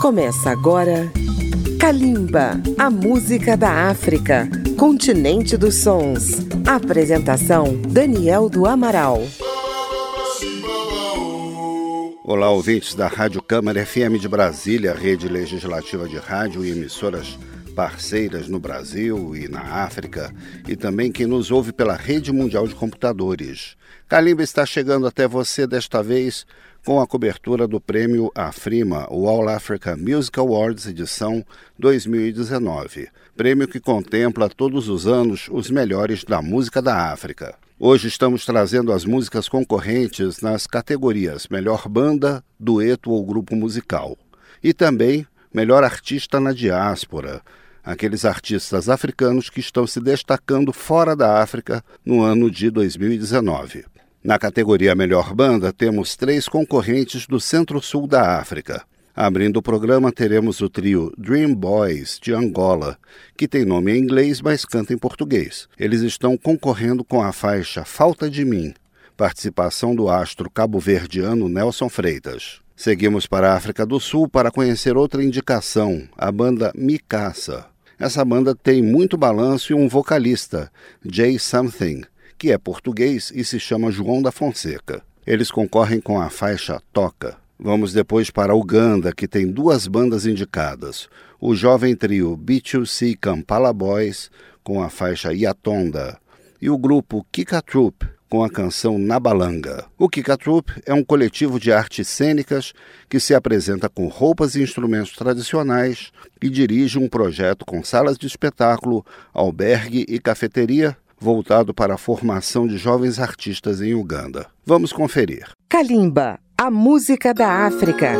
Começa agora Kalimba, a música da África, continente dos sons. Apresentação, Daniel do Amaral. Olá, ouvintes da Rádio Câmara FM de Brasília, rede legislativa de rádio e emissoras parceiras no Brasil e na África, e também quem nos ouve pela Rede Mundial de Computadores. Kalimba está chegando até você desta vez com a cobertura do prêmio AFRIMA, o All Africa Music Awards edição 2019, prêmio que contempla todos os anos os melhores da música da África. Hoje estamos trazendo as músicas concorrentes nas categorias Melhor Banda, Dueto ou Grupo Musical, e também Melhor Artista na Diáspora, aqueles artistas africanos que estão se destacando fora da África no ano de 2019. Na categoria Melhor Banda, temos 3 concorrentes do Centro-Sul da África. Abrindo o programa, teremos o trio Dream Boys, de Angola, que tem nome em inglês, mas canta em português. Eles estão concorrendo com a faixa Falta de Mim, participação do astro cabo-verdiano Nelson Freitas. Seguimos para a África do Sul para conhecer outra indicação, a banda Mikasa. Essa banda tem muito balanço e um vocalista, Jay Something, que é português e se chama João da Fonseca. Eles concorrem com a faixa Toca. Vamos depois para Uganda, que tem 2 bandas indicadas. O jovem trio B2C Kampala Boys, com a faixa Yatonda, e o grupo Kika Troop, com a canção Nabalanga. O Kika Troop é um coletivo de artes cênicas que se apresenta com roupas e instrumentos tradicionais e dirige um projeto com salas de espetáculo, albergue e cafeteria, voltado para a formação de jovens artistas em Uganda. Vamos conferir. Kalimba, a música da África.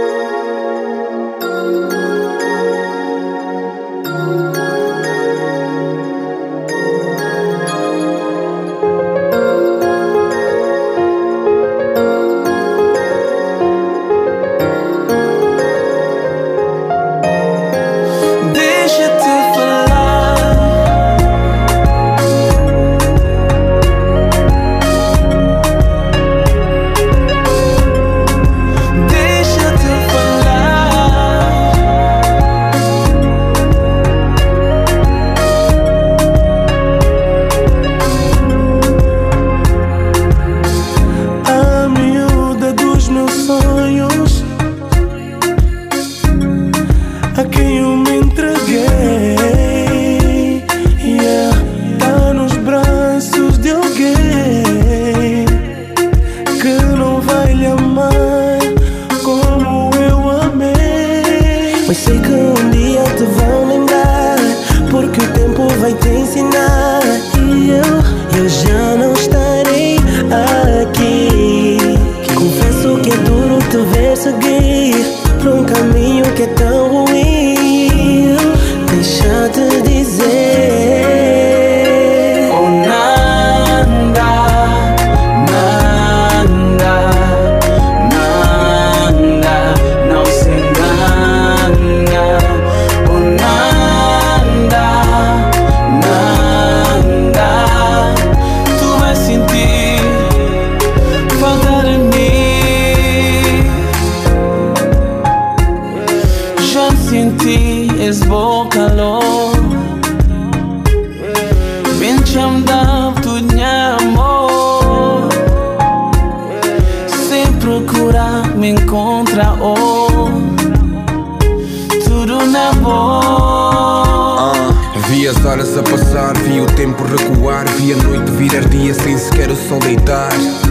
Vi as horas a passar, vi o tempo recuar, vi a noite virar dia sem sequer o sol deitar.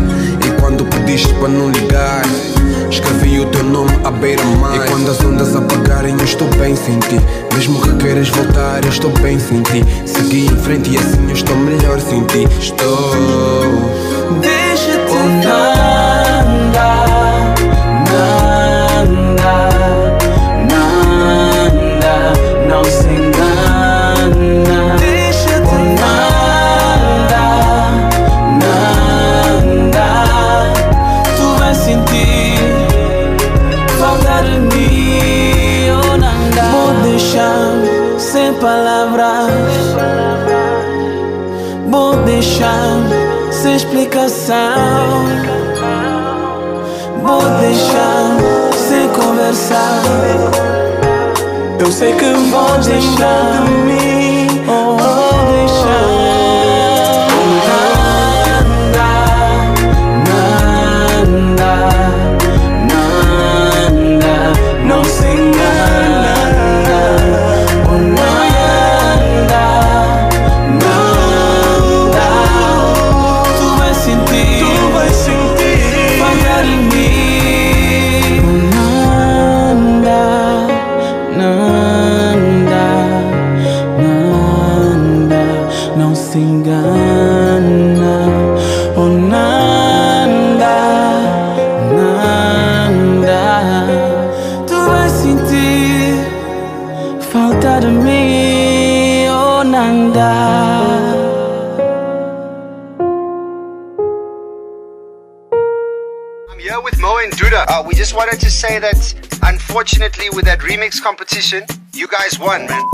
E quando pediste para não ligar, escrevi o teu nome à beira-mar. E quando as ondas apagarem eu estou bem sem ti. Mesmo que queiras voltar eu estou bem sem ti. Segui em frente e assim eu estou melhor sem ti. Deixa-te andar. Não se engana. Deixa-te andar. Tu vais sentir falta de mim. Vou deixar sem palavras. Vou deixar sem explicação. Vou deixar sem conversa. conversar. Eu sei que vou deixar de mim, vou deixar. Não se engana, oh nada, nada. Tu vais sentir faltar em mim. Nada, nada, nada. Não se engana, oh nada, nada. Tu vais sentir falta de mim, oh nada. I'm here with Mo and Duda. We just wanted to say that, unfortunately, with that remix competition, you guys won, man.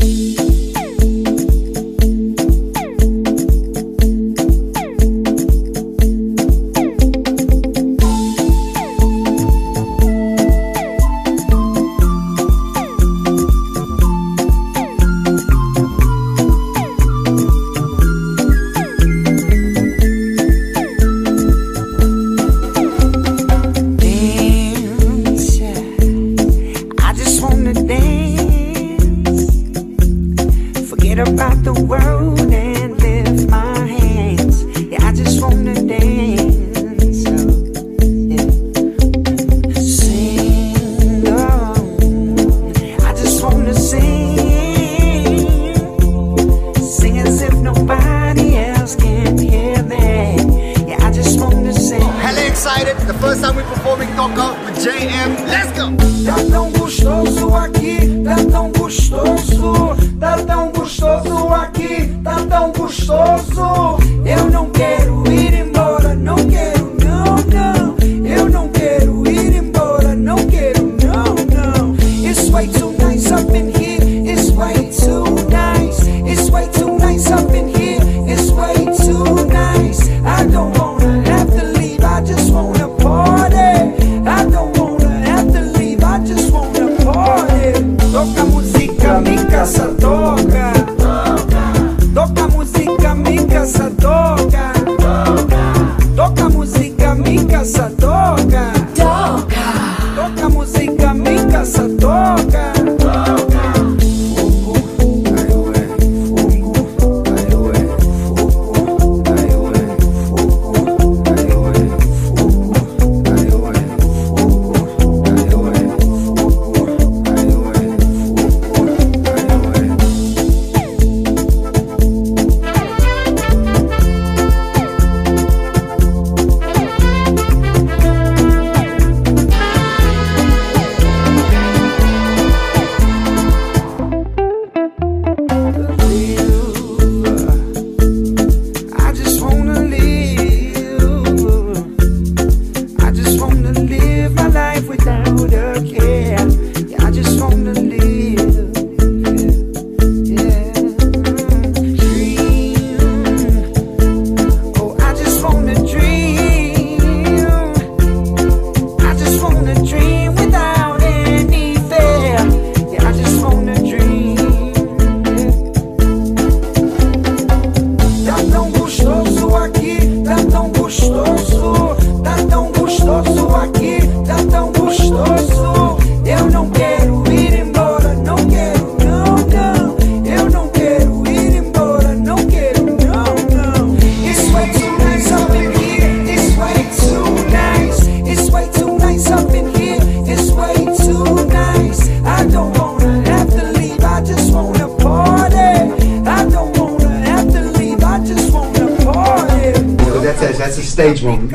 That's a stage moment.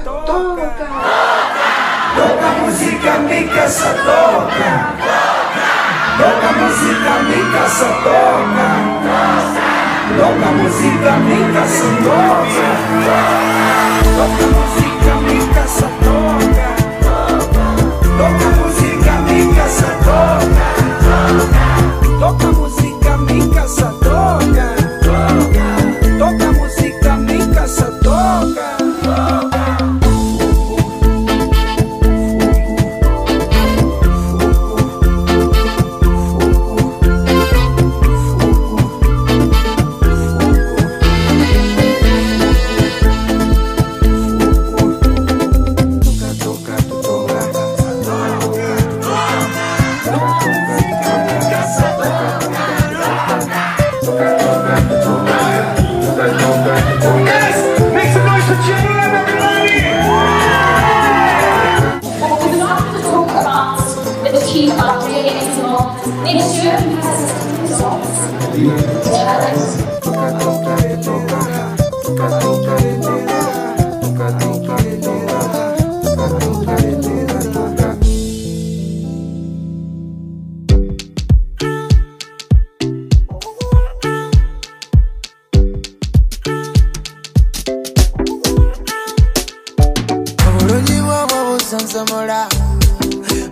Toca música, mi casa toca. Toca música, mi casa toca. Toca música, mi casa toca. Toca música, mi casa toca. Toca música, mi casa toca. Toca música, mi casa toca. Toca música, mi casa toca.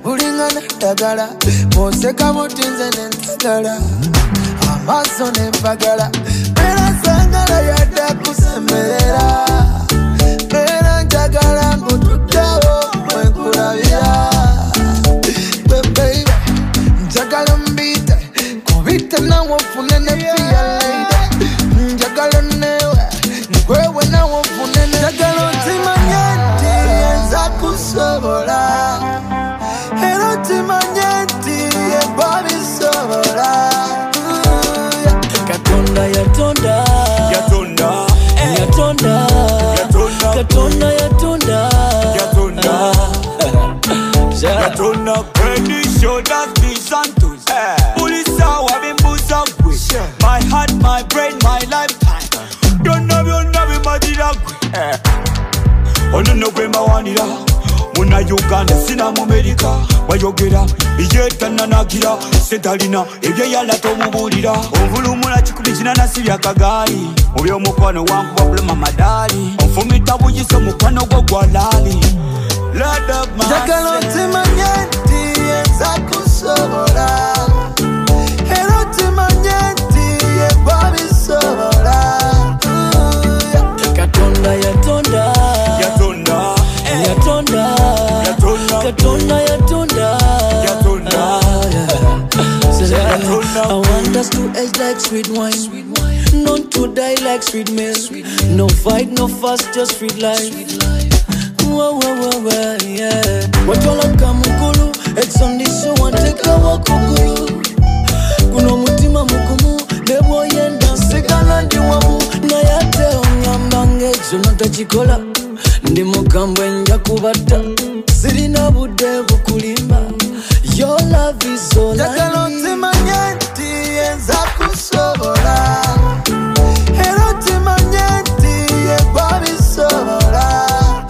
ulingana dagala moseka mutinze nentagala amaso nempagala era sangala yadda kusemerera era njagala ngutuddawo mwekulabira baby njagala mbite kubite nawe ofune ne pia lady njagala newe nkwewe nawe ofune ne njagala ntimanye nti yenza kusobola era ntimanye nti yeba bisobola Katonda yatonda yatonda yatonda Katonda yatonda yatonda yatonda Kwendi shoulders be santos Ulisa wabimbuza gwe My heart, my brain, my lifetime Byonna bimadira gwe Ono no gwe mawanira Muna Uganda sina mu America Wayogera yetananagira Setalina ebyo yala tomubulira Ovulumula kikumi kinanasi byakagaali Mu by'omukwano wangu wabulema madali Onfumita buyiso mukwano gwo gwalali Lord of my njagala ntimanye nti yenza kusobola era ntimanye nti yeba bisobola Katonda yatonda yatonda yatonda Katonda yatonda yatonda I want us to age like sweet wine Not to die like sweet milk No fight, no fuss, just sweet life Whoa, yeah Watwala kamukulu It's on this show and take a walk kukulu Kuno mutima mukumu Debo yenda Sikana diwamu Na yate onyambange Zonata chikola Ndi mukambwe nja kubata Sirina bude bukulimba Your love is all I need Jagala ntimanye nti yenza kusobola Era ntimanye nti yeba bisobola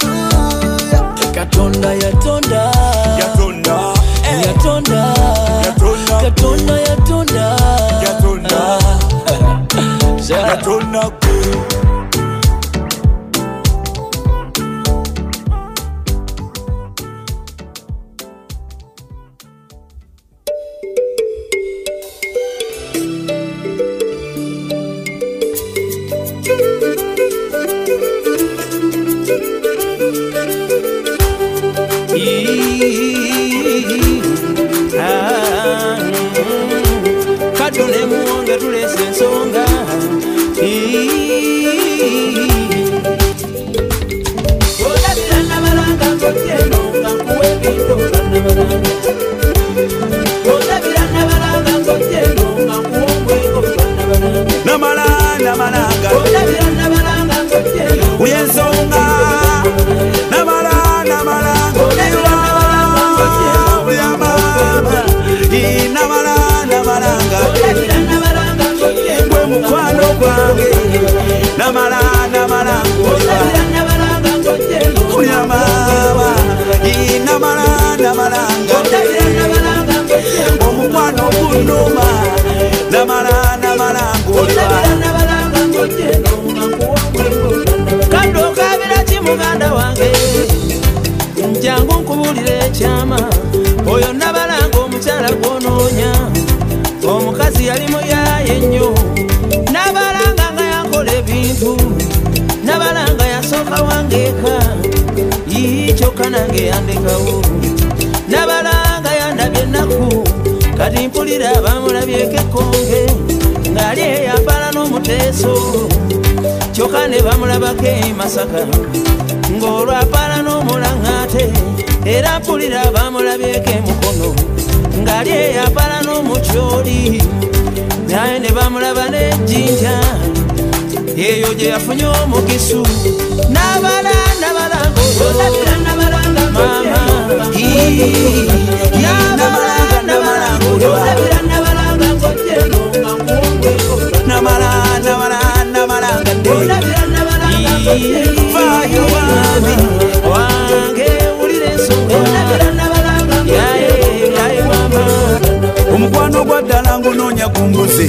Katonda yatonda yatonda yatonda Katonda yatonda yatonda yatonda Kadone muonge tulese nsonga Odabirana balanga ngoteno Ngankuwe bintu nabalanga Odabirana balanga ngoteno Ngankuwe bintu nabalanga Namalanga Odabirana balanga ngoteno Uyensonga Namalanga Namalanga Gwe mukwano gwange Namalanga Kulya mama Namalanga Omukwano gunuma Namalanga Kando kabira kimuganda wange Njangu nkubulire ekyama Oyo Nabalanga omukyala gwonoonya Omukazi yali muyaye nnyo Nabalanga nga yakola ebintu Nabalanga yasooka wangeeka Kyokka nange yandekawo Nabalanga yandabye ennaku Kati mpulira bamulabyeko ekkonge ng'ali eyambala n'omuteeso Kyokka ne bamulabako e Masaka ng'olwo apala n'omulaŋŋaate Era mpulira bamulabyeko emukono ng'ali eyambala n'omukyoli naye ne bamulaba n'ejjinja eyo gye yafunye omugisu Nabalanga mama omukwano gwa ddala ngunoonya ku mbuzi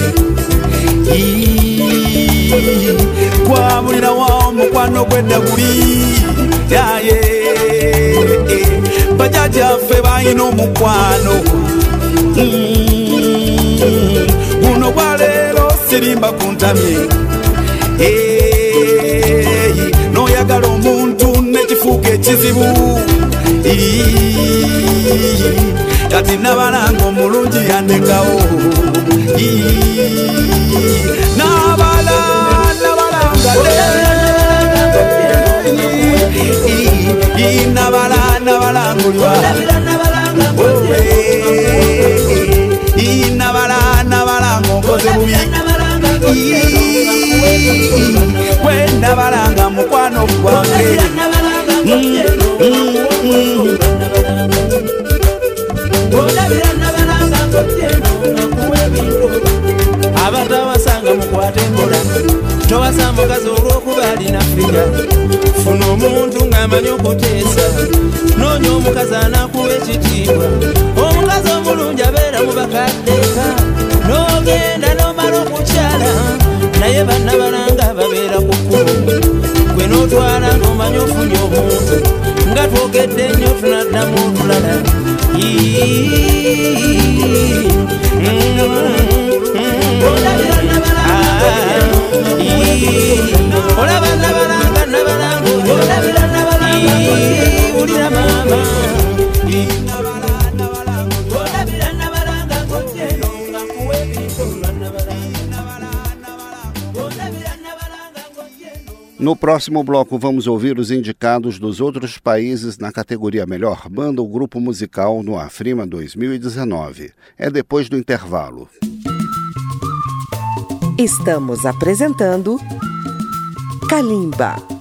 kwabulira wa omukwano gw'edda guli bajajjaffe balina omukwano guno gwaleero sirimba ku ntamye n'oyagala omuntu nekifuuka ekizibu kati nabalanga omulungi yandekawo nabalanga nabalangulwa nabalanga onkoze bubi nabalanga mukwano gwange abantu abasanga mukwata enkola towasa mukazi olw'okuba alina figa funa omuntu ng'amanyi okuteesa noonya omukazi anakuwa ekitiibwa omukazi omulungi abeera mu bakaddeka n'ogenda n'omala okukyala naye bannabalanga babeera ku kkubo gwe n'otwala ng'omanyi ofunye omuntu nga twogedde nnyo tunaddamu otulala olaba nabalanga ulira mama No próximo bloco vamos ouvir os indicados dos outros países na categoria Melhor Banda ou Grupo Musical no Afrima 2019. É depois do intervalo. Estamos apresentando Kalimba.